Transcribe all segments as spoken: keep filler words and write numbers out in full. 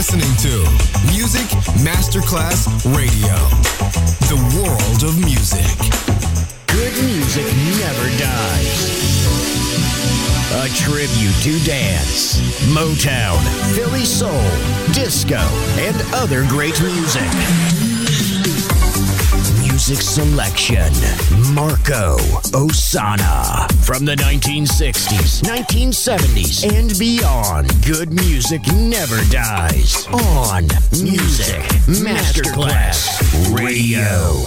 listening to Music Masterclass Radio, the world of music. Good music never dies. A tribute to dance, Motown, Philly soul, disco, and other great music. Music selection, Marco Ossanna. From the nineteen sixties, nineteen seventies, and beyond, good music never dies. On Music Masterclass Radio.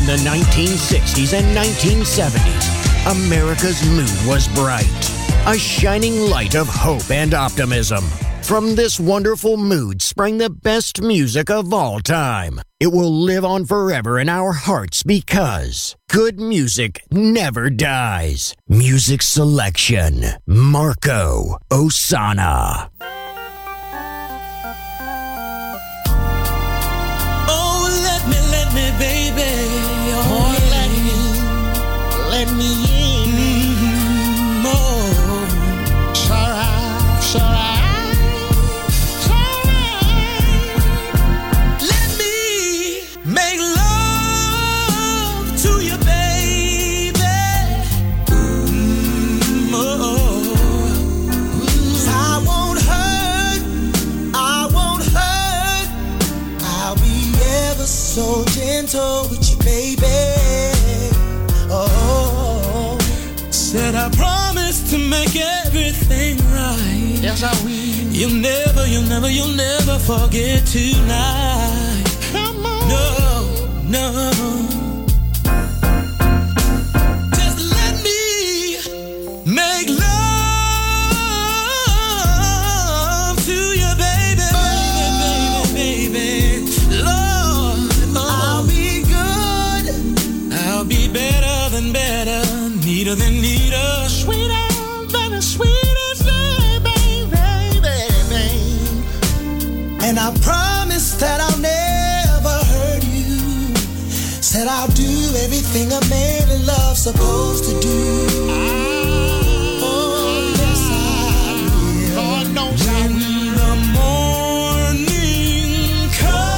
the nineteen sixties and nineteen seventies, America's mood was bright, a shining light of hope and optimism. From this wonderful mood sprang the best music of all time. It will live on forever in our hearts because good music never dies. Music selection, Marco Ossanna. Oh, let me, let me, baby. Oh, yeah. let me, let me in. Mm-hmm. Oh, it's alright, it's alright. Make love to you, baby. Mm, oh. I won't hurt, I won't hurt. I'll be ever so gentle with you, baby. Oh, said I promise to make everything right. Yes, I will. You'll never, you'll never, you'll never forget tonight. Come on. No, no. Just let me make love to you, baby, baby, baby, baby. Lord, oh. I'll be good. I'll be better than better, neater than neater, sweeter than the sweetest, baby, baby, baby. And I promise that I'll never. Said I'll do everything a man in love's supposed to do. Oh, yes, I will. Lord knows I will. When the morning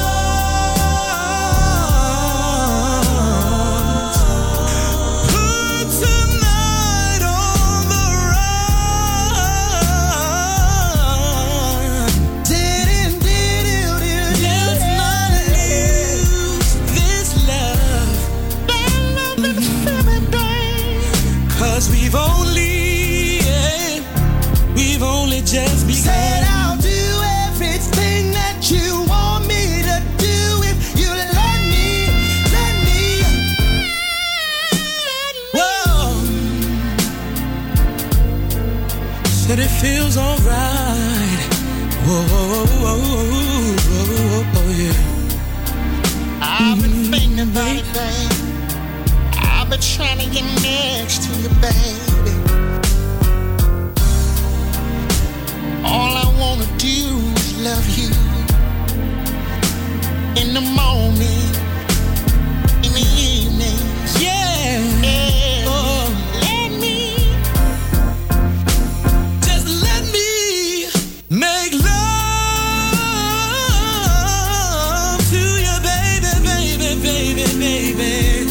comes, put tonight on the run. Didn't, didn't, didn't, let's not lose this love. Cause we've only, yeah, we've only just begun. Said I'll do everything that you want me to do if you let me, let me. Whoa. Said it feels alright. Whoa, whoa, whoa, whoa, whoa, whoa, yeah. I've been mm-hmm. thinking about it, babe. I've been trying to get next to you, baby. All I wanna do is love you. In the morning, in the evening. Yeah, yeah. Oh, let me, just let me make love to you, baby, baby, baby, baby.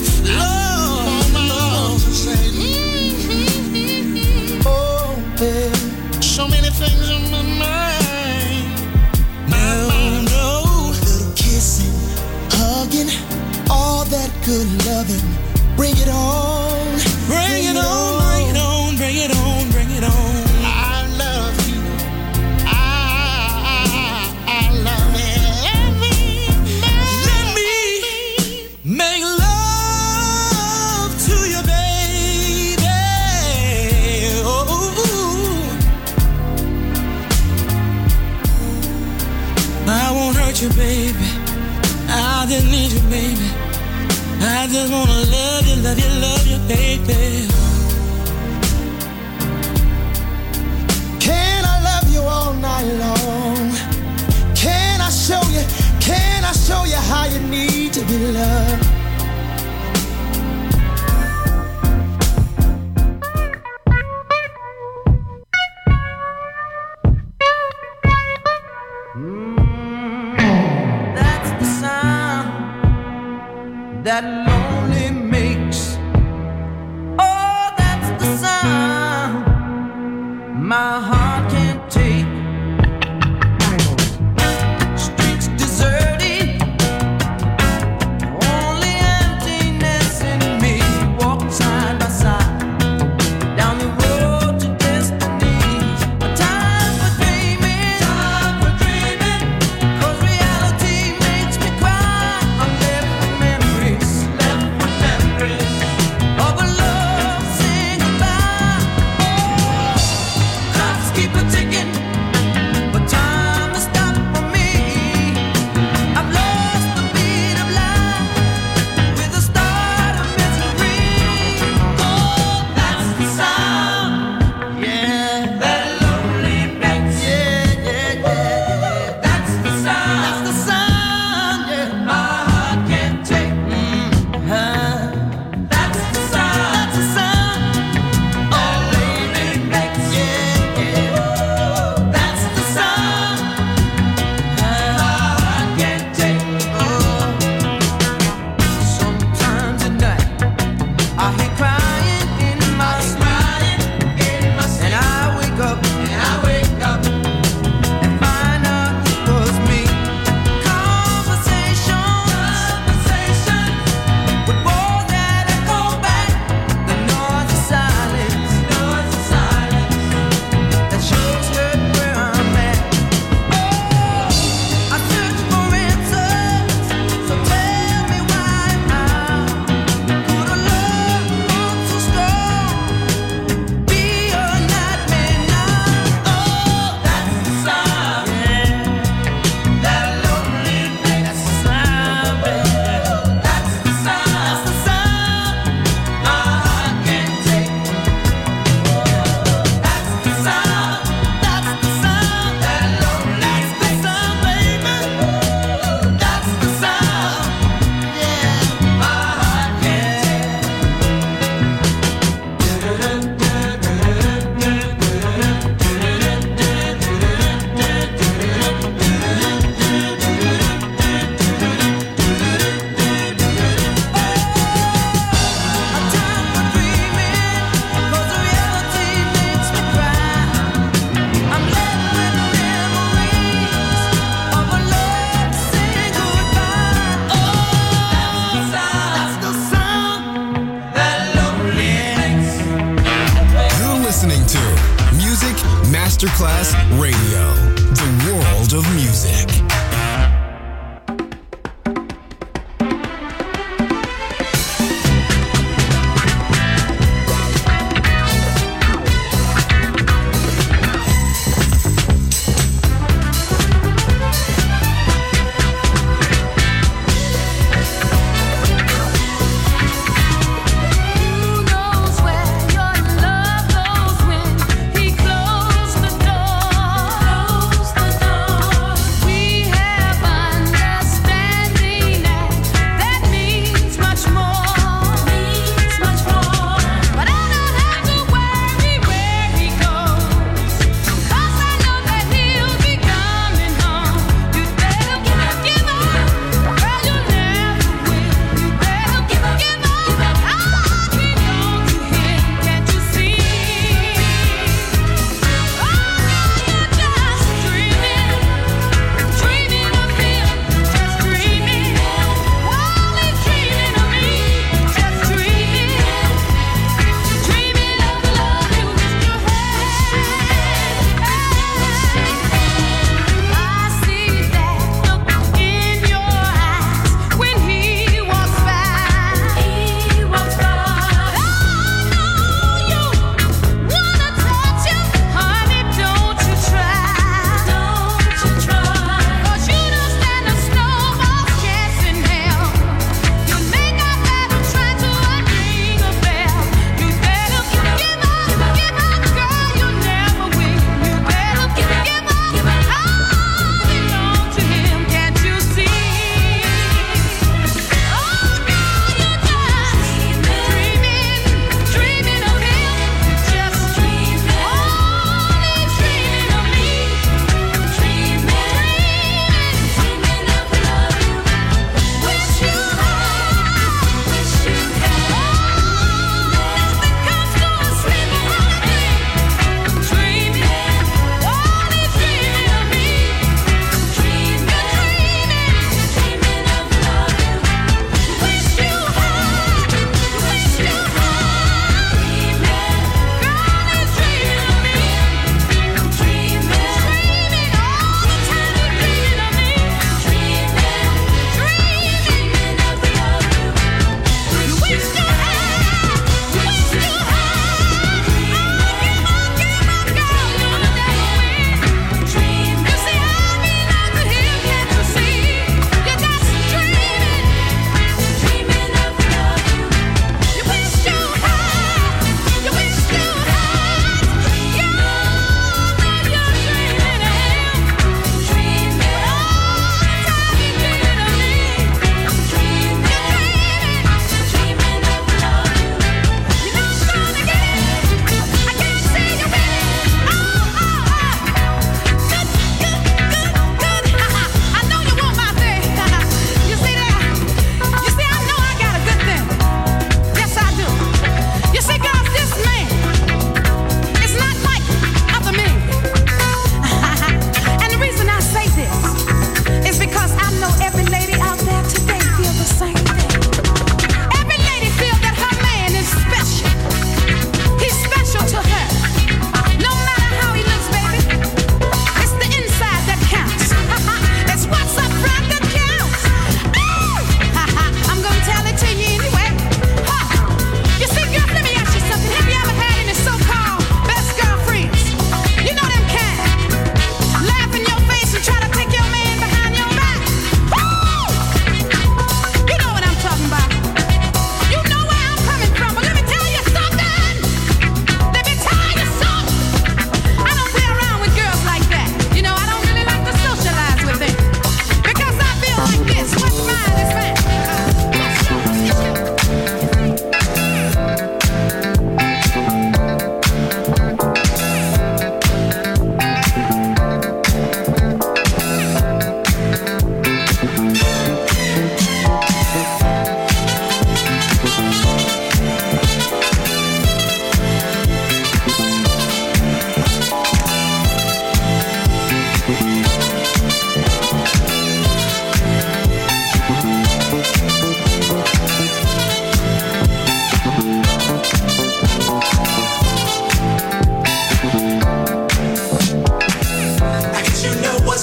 So many things on my mind. No, no. Little kissing, hugging, all that good loving. Bring it on. Bring, bring it, it on, on, bring it on, bring it on, bring it on. I love you. I, I, I love it. Let me, let me make love to you, baby. Oh. I won't hurt you, baby. I just need you, baby. I just wanna love you, love you, love you, baby. Can I love you all night long? Can I show you, can I show you how you need to be loved? That lonely makes. Oh, that's the sound my heart can't take. Streets deserted, only emptiness in me. Walk side by side down the road to destiny. A time for dreaming, time for dreaming. 'Cause reality makes me cry. I'm left with memories. Masterclass Radio, the world of music. Who knows where your love goes when he closed the door?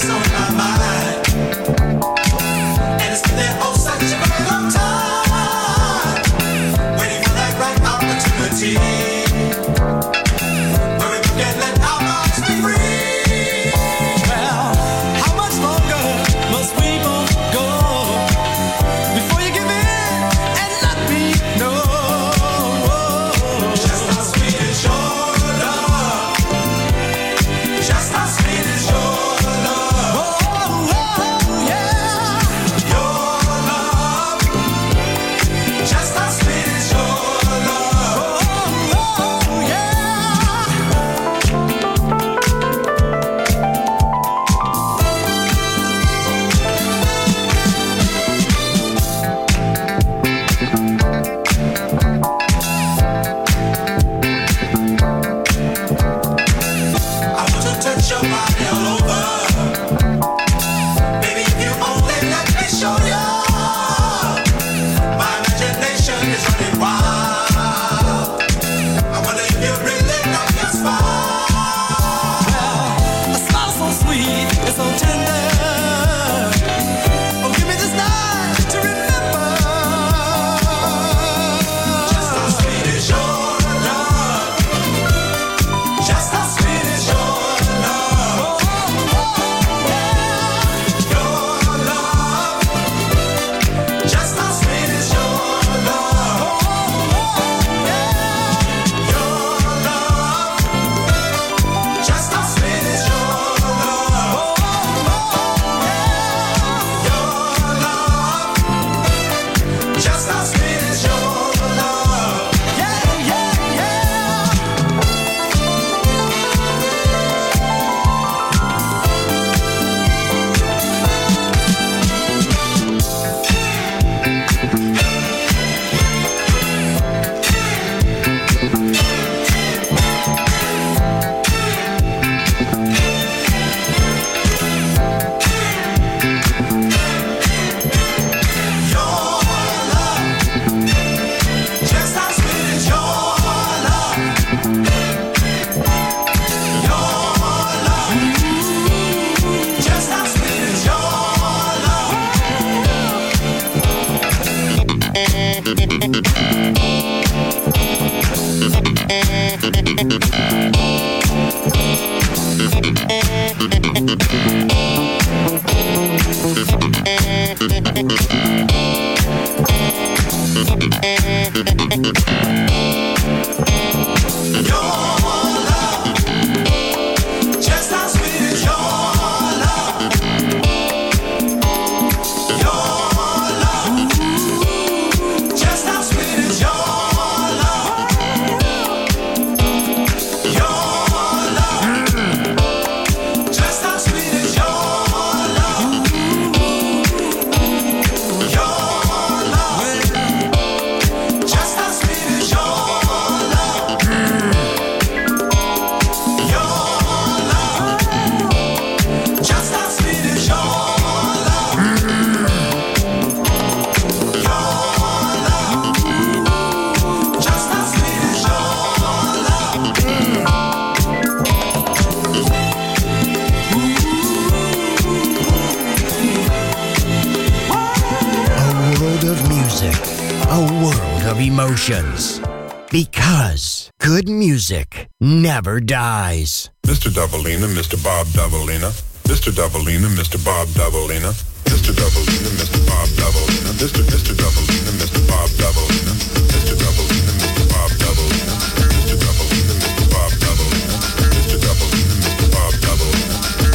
Because good music never dies. Mister Davalina, Mister Bob Davalina, Mister Davalina, Mister Bob Davalina, Mister Davalina, Mister Bob Davalina, Mister Mister Davalina, Mister Bob Davalina, Mister Davalina, Mister Bob Davalina, Mister Davalina, Mister Bob Davalina, Mister Davalina, Mister Bob Davalina,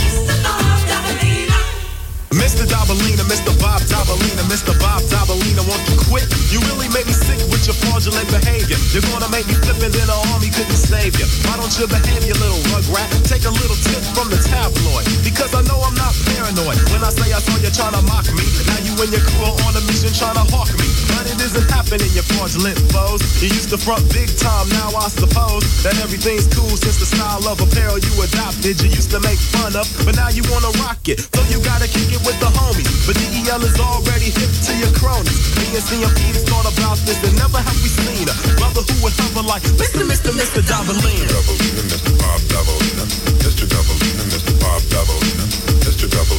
Mister Davalina, Mister Bob Davalina, Mister Bob Davalina, won't you quit? You really make me sick with your fraudulent behavior. You're gonna make me flip and then the army couldn't save you. Why don't you behave, you little rugrat? Take a little tip from the tabloid. Because I know I'm not paranoid. When I say I saw you trying to mock me, now you and your crew are on a mission trying to hawk me. But it isn't happening, you fraudulent foes. You used to front big time, now I suppose that everything's cool since the style of apparel you adopted. You used to make fun of, but now you wanna rock it. So you gotta kick it with the homies. But D E L is already hip to your cronies. Me and C M P thought about this and never have we seen a brother who would hover like Mister Mister Mister Davalina. Davalina, Mister Bob Davalina, Mister Davalina, Mister Bob Davalina, Mister Davalina.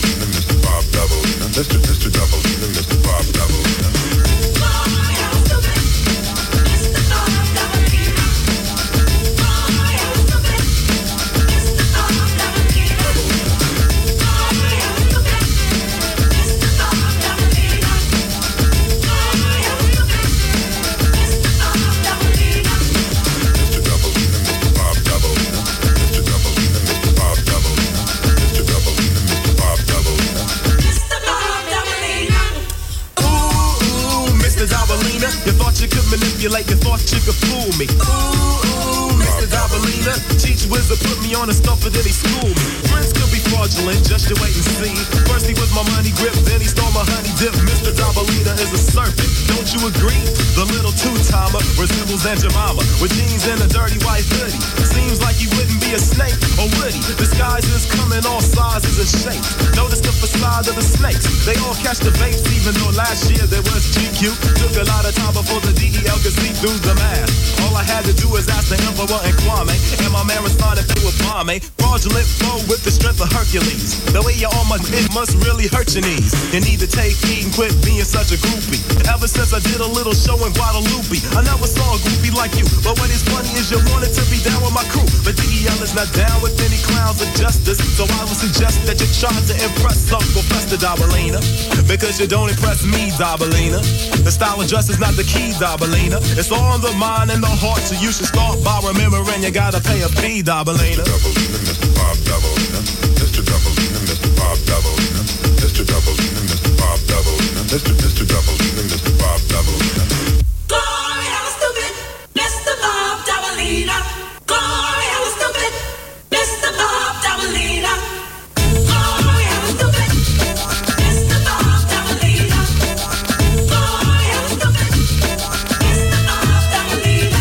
manipulate your thoughts, you could fool me. Ooh, ooh, Mister Dabalina, teach wizard put me on a stuffer, then he schooled me. Friends could be fraudulent, just you wait and see. First he was my money grip, then he stole my honey dip. Mister Dabalina is a serpent, don't you agree? The little two-timer resembles Aunt Jemima with jeans and a dirty white hoodie. Seems like he wouldn't be a snake, or would he? Disguises come in all sizes and shapes. Notice the facade of the snakes, they all catch the vapes, even though last year there was G Q. Took a lot of time before the D E L could see through the mask. All I had to do was ask the Emperor and Kwame, and my man responded they were bomb. Fraudulent flow with the strength of Hercules. The way you're on my it must really hurt your knees. You need to take heed and quit being such a groupie. Ever since I did a little show in Guadalupe, I never saw a groupie like you. But what is funny is you wanted to be down with my crew, but D E L is not down with any clowns of justice. So I would suggest that you try to impress Uncle Fester Dabalina, because you don't impress me, Dabalina. The style of dress is not the key, Dabalina. It's all in the mind and the heart, so you should start by remembering you gotta pay a fee, Dabalina. Mister Bob Dabalina, Mister Dabalina, Mister Bob Dabalina, Mister Dabalina, Mister Bob Dabalina, Mister Mister Dabalina, Mister Bob Dabalina. Glory, I was stupid, Mister Bob Dabalina. Glory, I was stupid, Mister Bob Dabalina. Glory, I was stupid, Mister Bob Dabalina. Glory, I was stupid, Mister Bob Dabalina.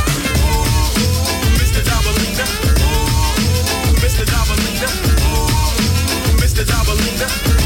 Mister Dabalina, Mister Dabalina, Mister Dabalina.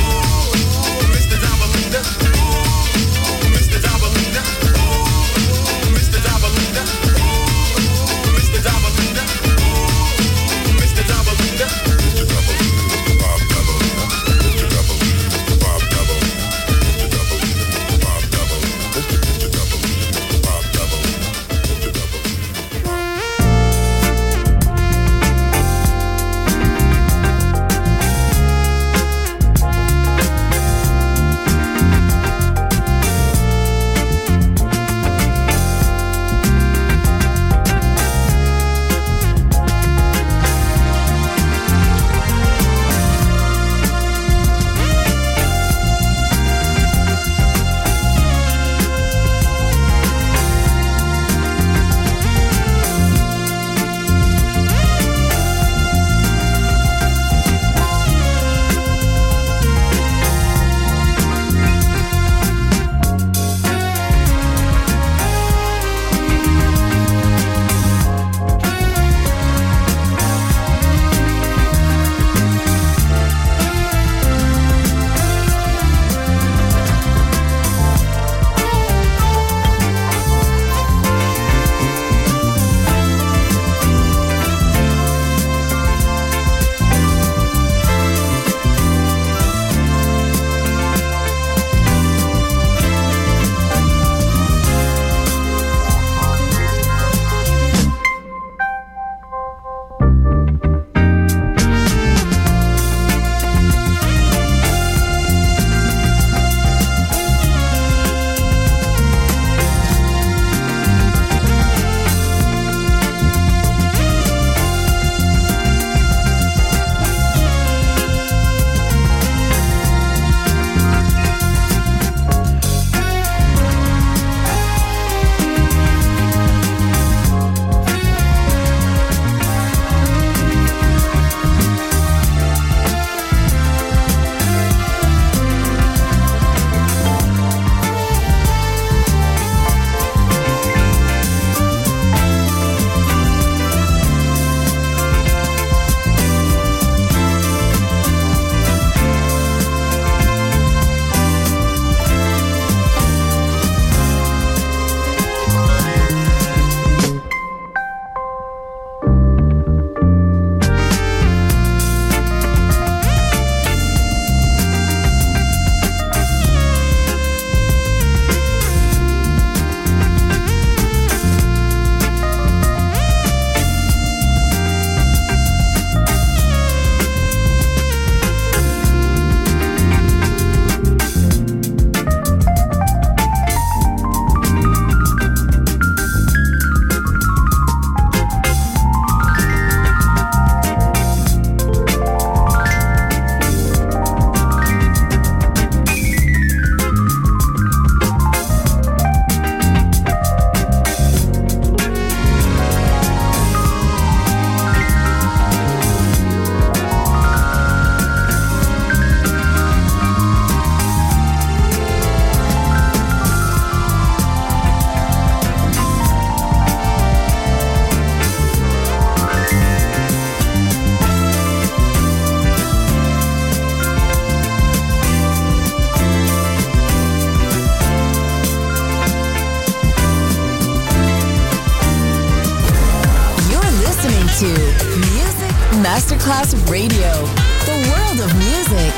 Masterclass Radio, the world of music.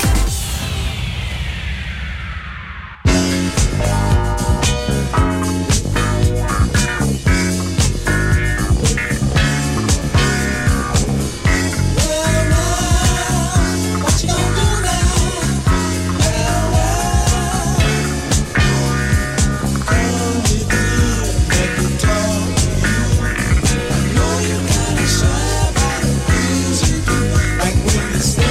Like when you say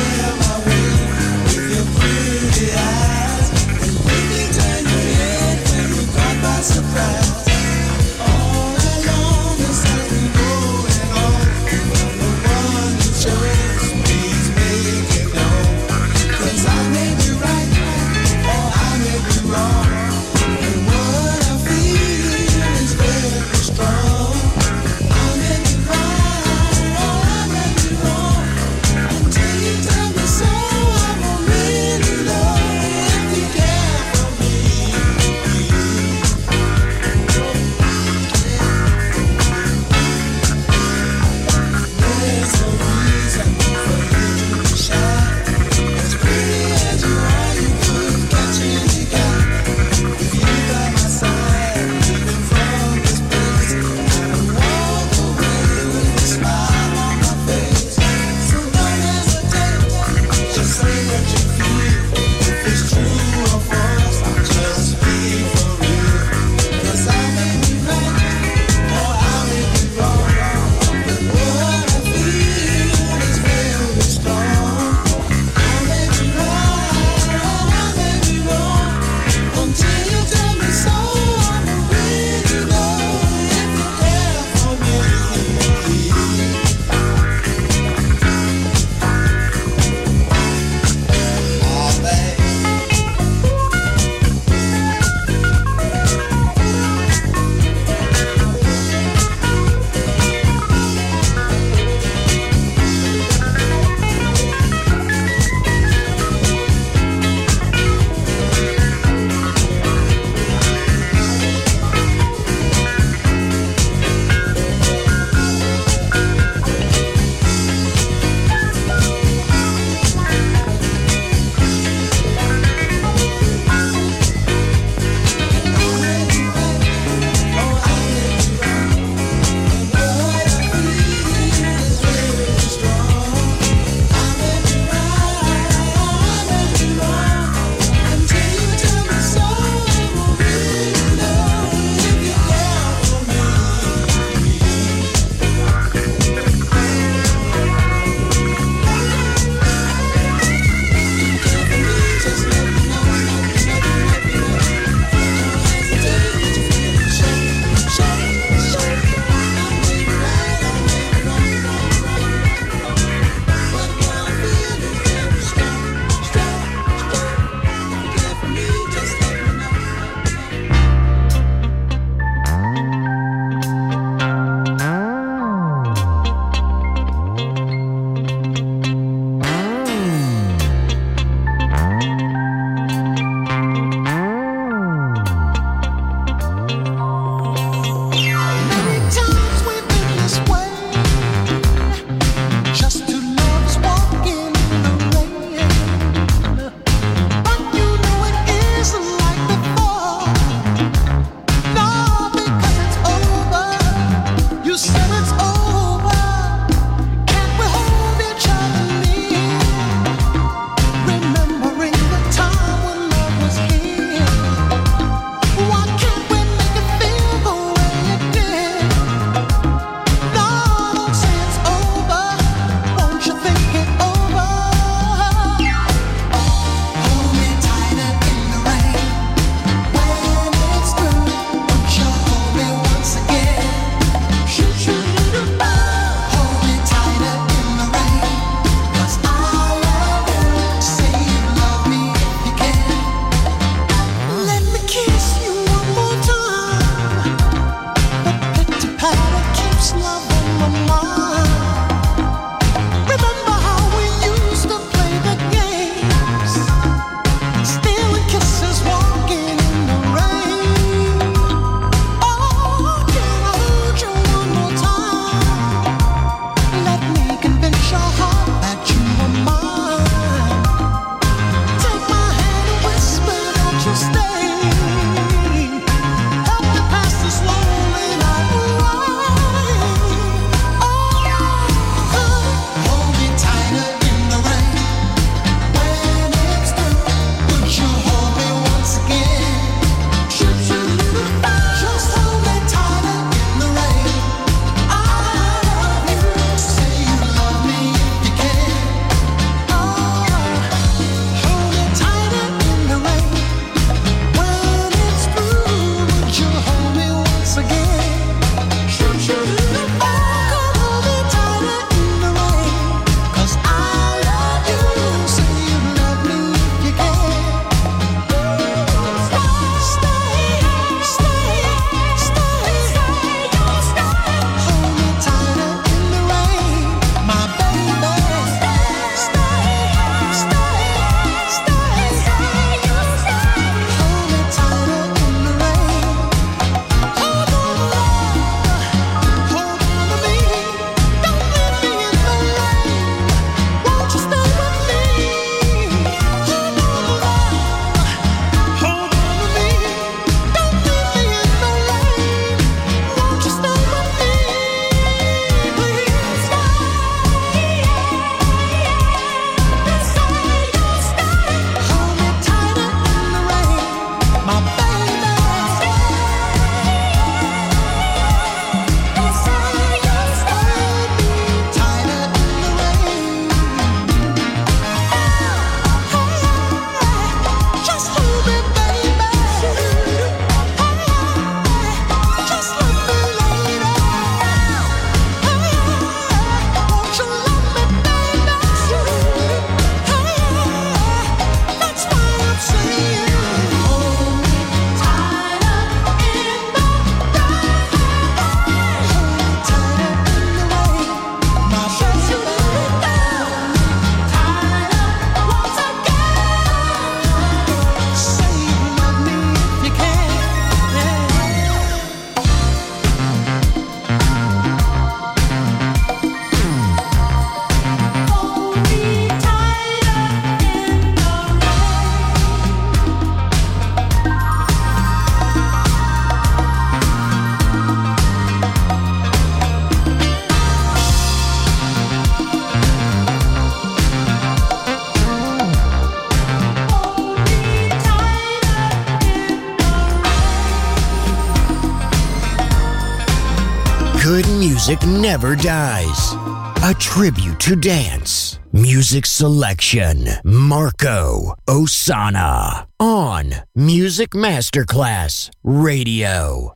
good music never dies. A tribute to dance. Music selection. Marco Ossanna. On Music Masterclass Radio.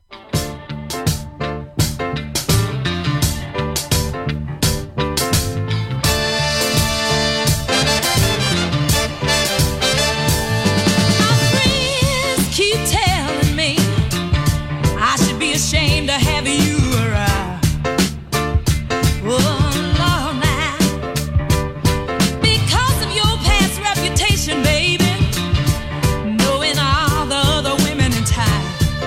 Ashamed to have you around. Oh, Lord, now. Because of your past reputation, baby, knowing all the other women in town,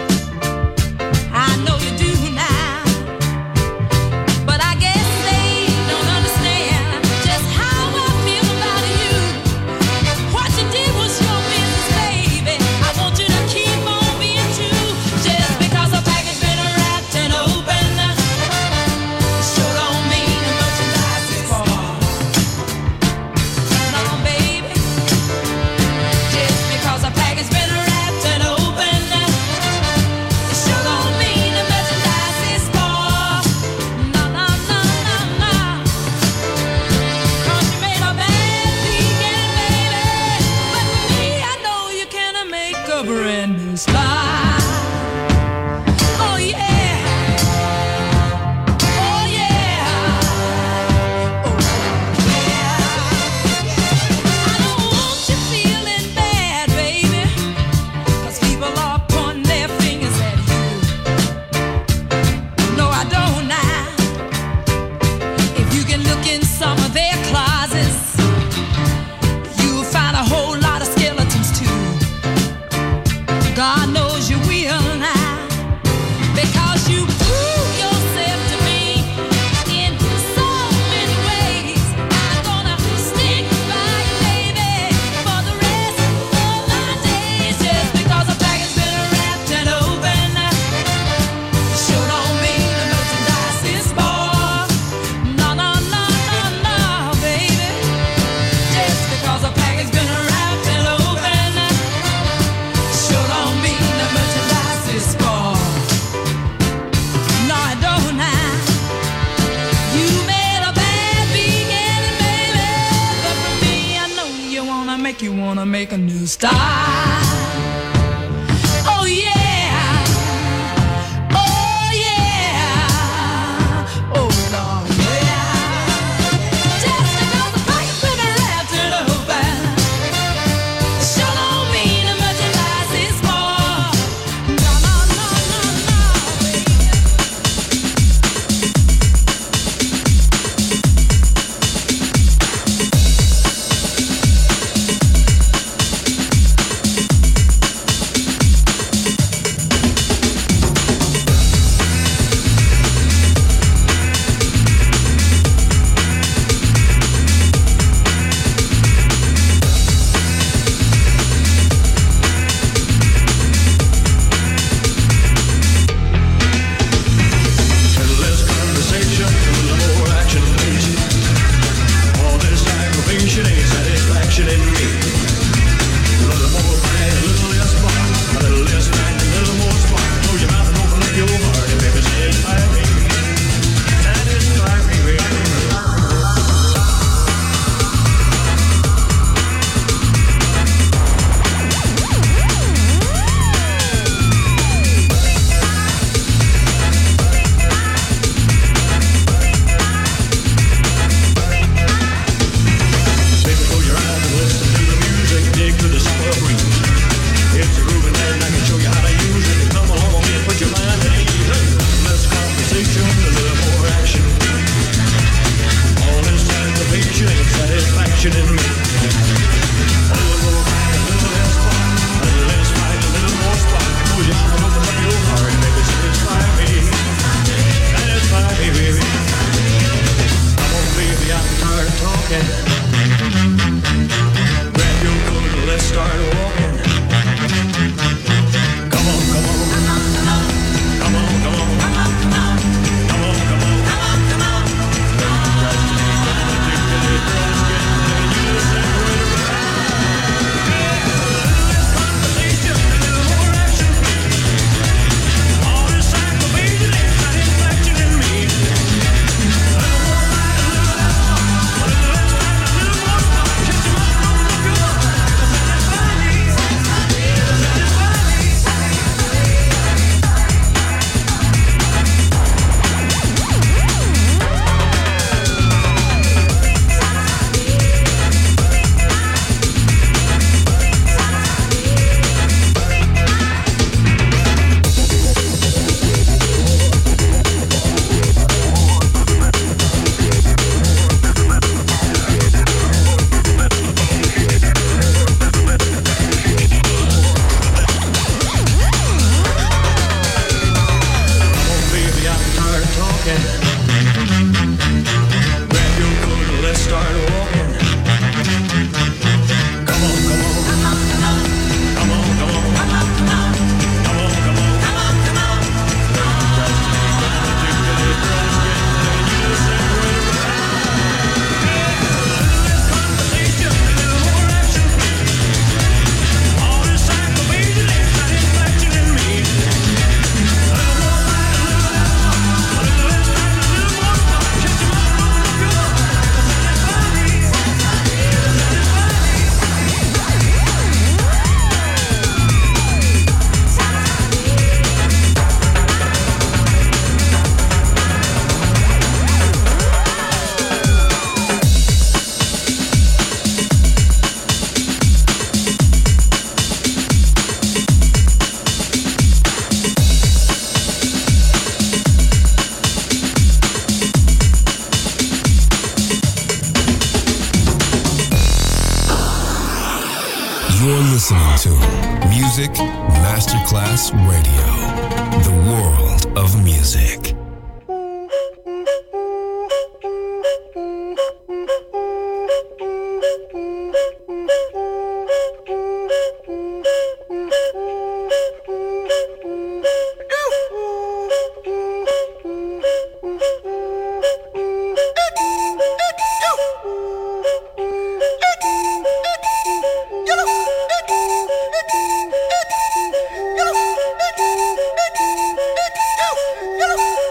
I know you do now. But I guess they don't understand just how I feel about you. What you did was your business, baby. I want you to keep on being true. Just because a package brand new style. Oh yeah. Oh yeah. Oh yeah. I don't want you feeling bad, baby, 'cause people are pointing their fingers at you. No, I don't now. If you can look in some of their closets, you'll find a whole lot of skeletons too. God knows you will now, because you prove yourself to me in so many ways. I'm gonna stick by you, baby, for the rest of my days. Just because a package been wrapped and open, sure don't mean the merchandise is spoiled. No, no, no, no, no, baby. Just because a package been wrapped and open, sure don't mean the merchandise is spoiled. No, I don't now. You made a bad beginning, baby, but for me, I know you wanna make you wanna make a new style. Oh yeah. Oh yeah. Oh Lord, yeah. Just because the package been wrapped and open, sure don't mean the merchandise is spoiled. No, no, no, no, no, baby. listening to Music Masterclass Radio, the world of music. You know,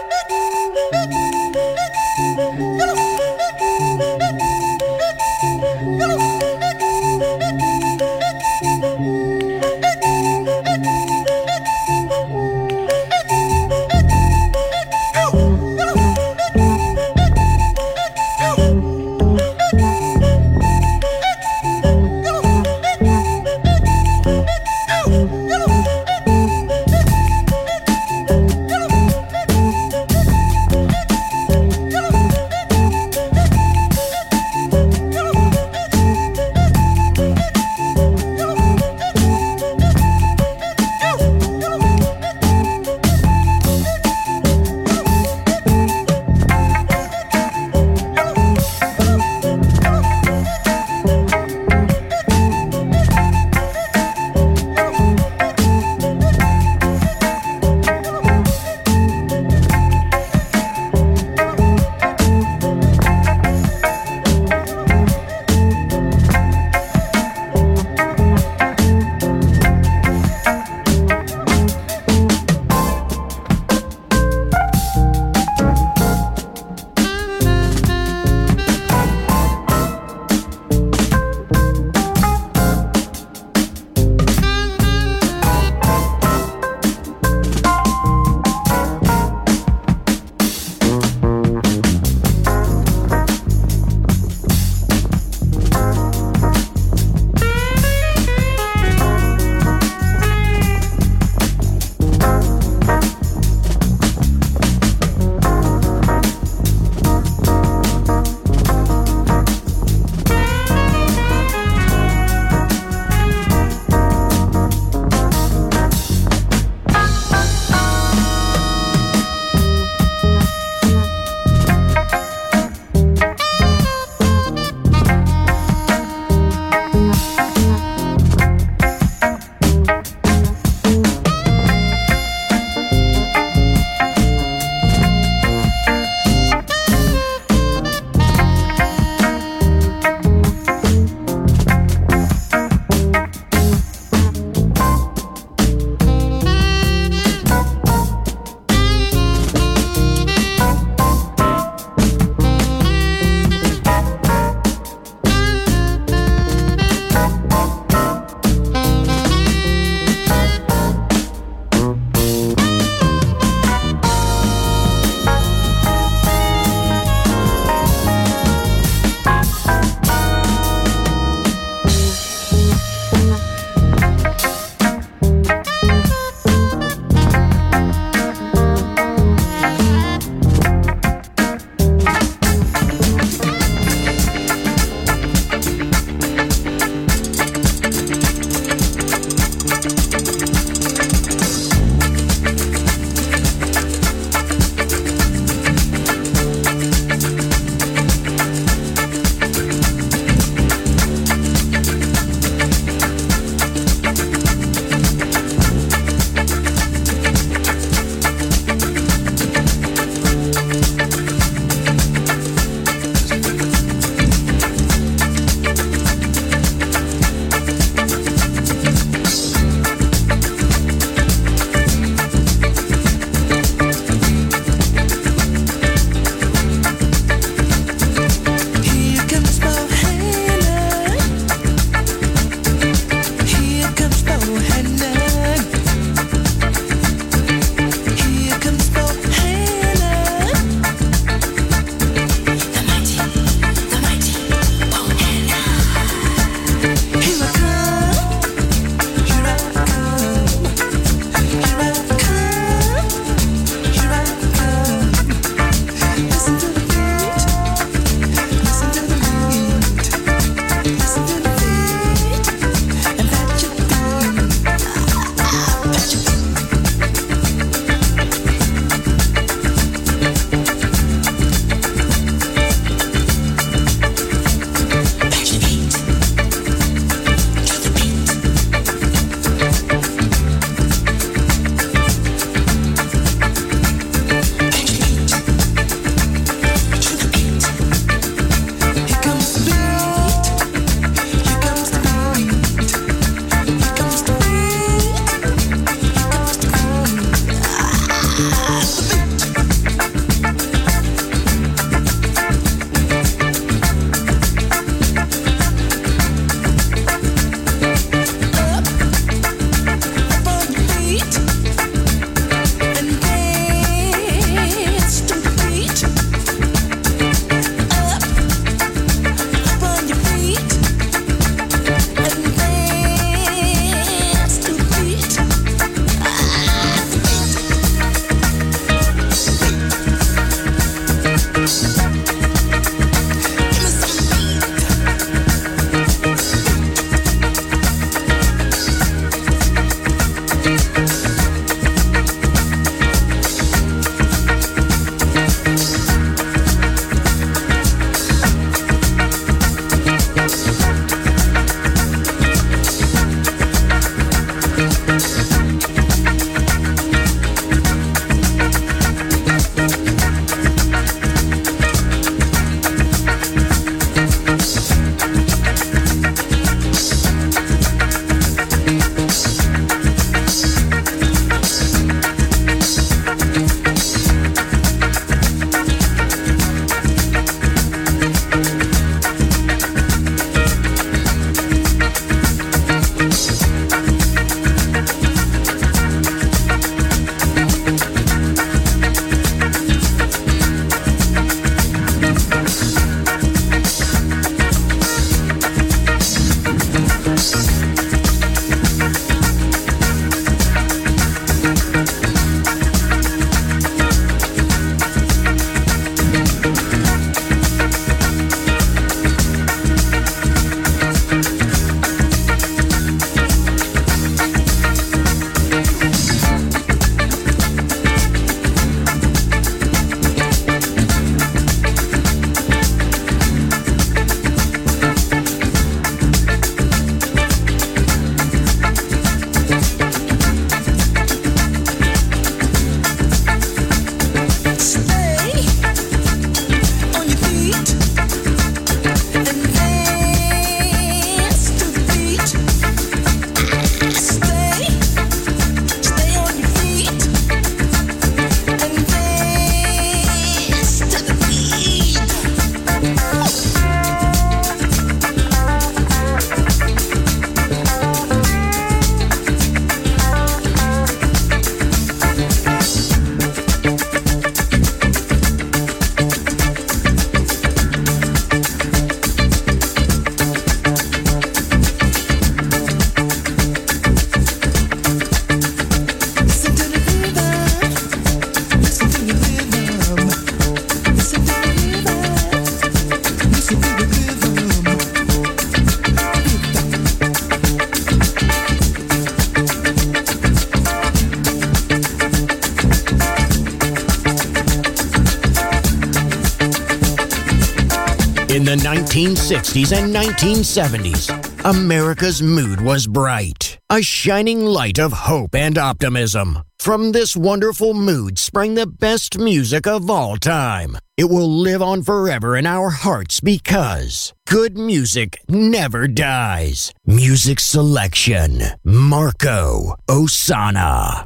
nineteen sixties and nineteen seventies, America's mood was bright. A shining light of hope and optimism. From this wonderful mood sprang the best music of all time. It will live on forever in our hearts because good music never dies. Music selection, Marco Ossanna.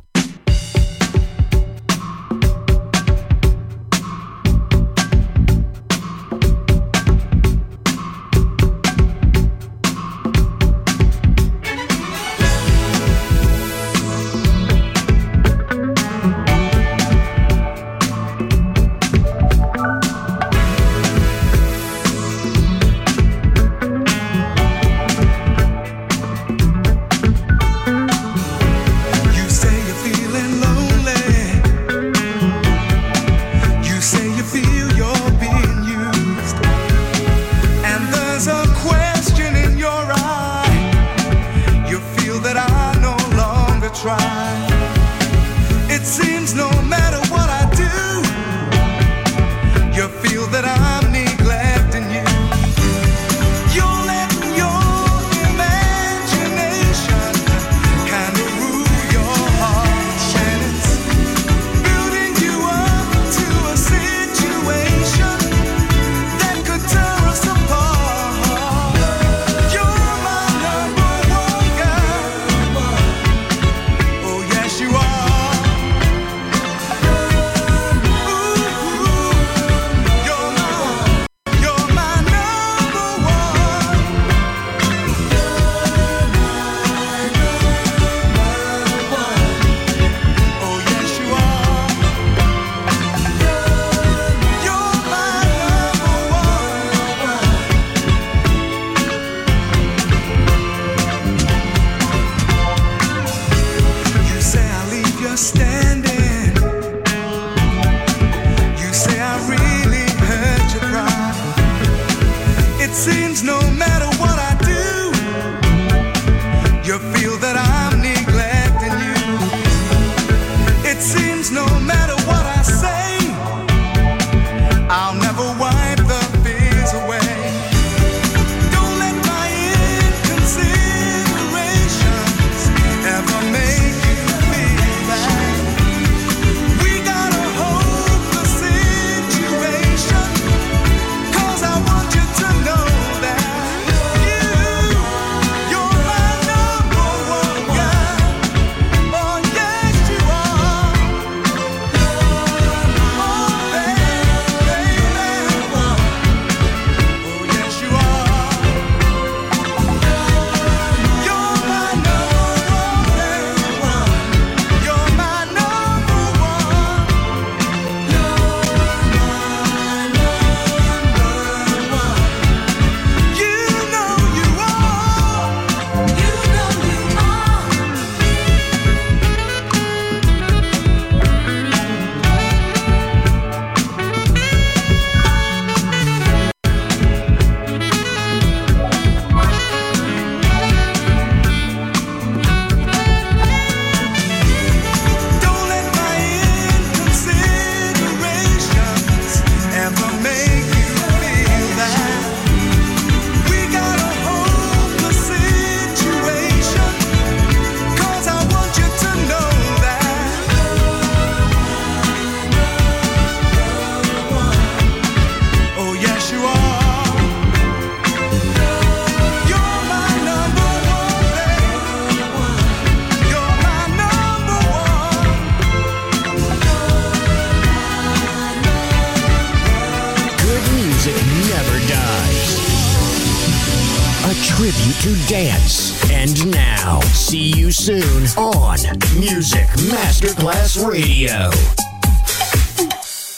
Tribute to dance. And now, see you soon on Music Masterclass Radio.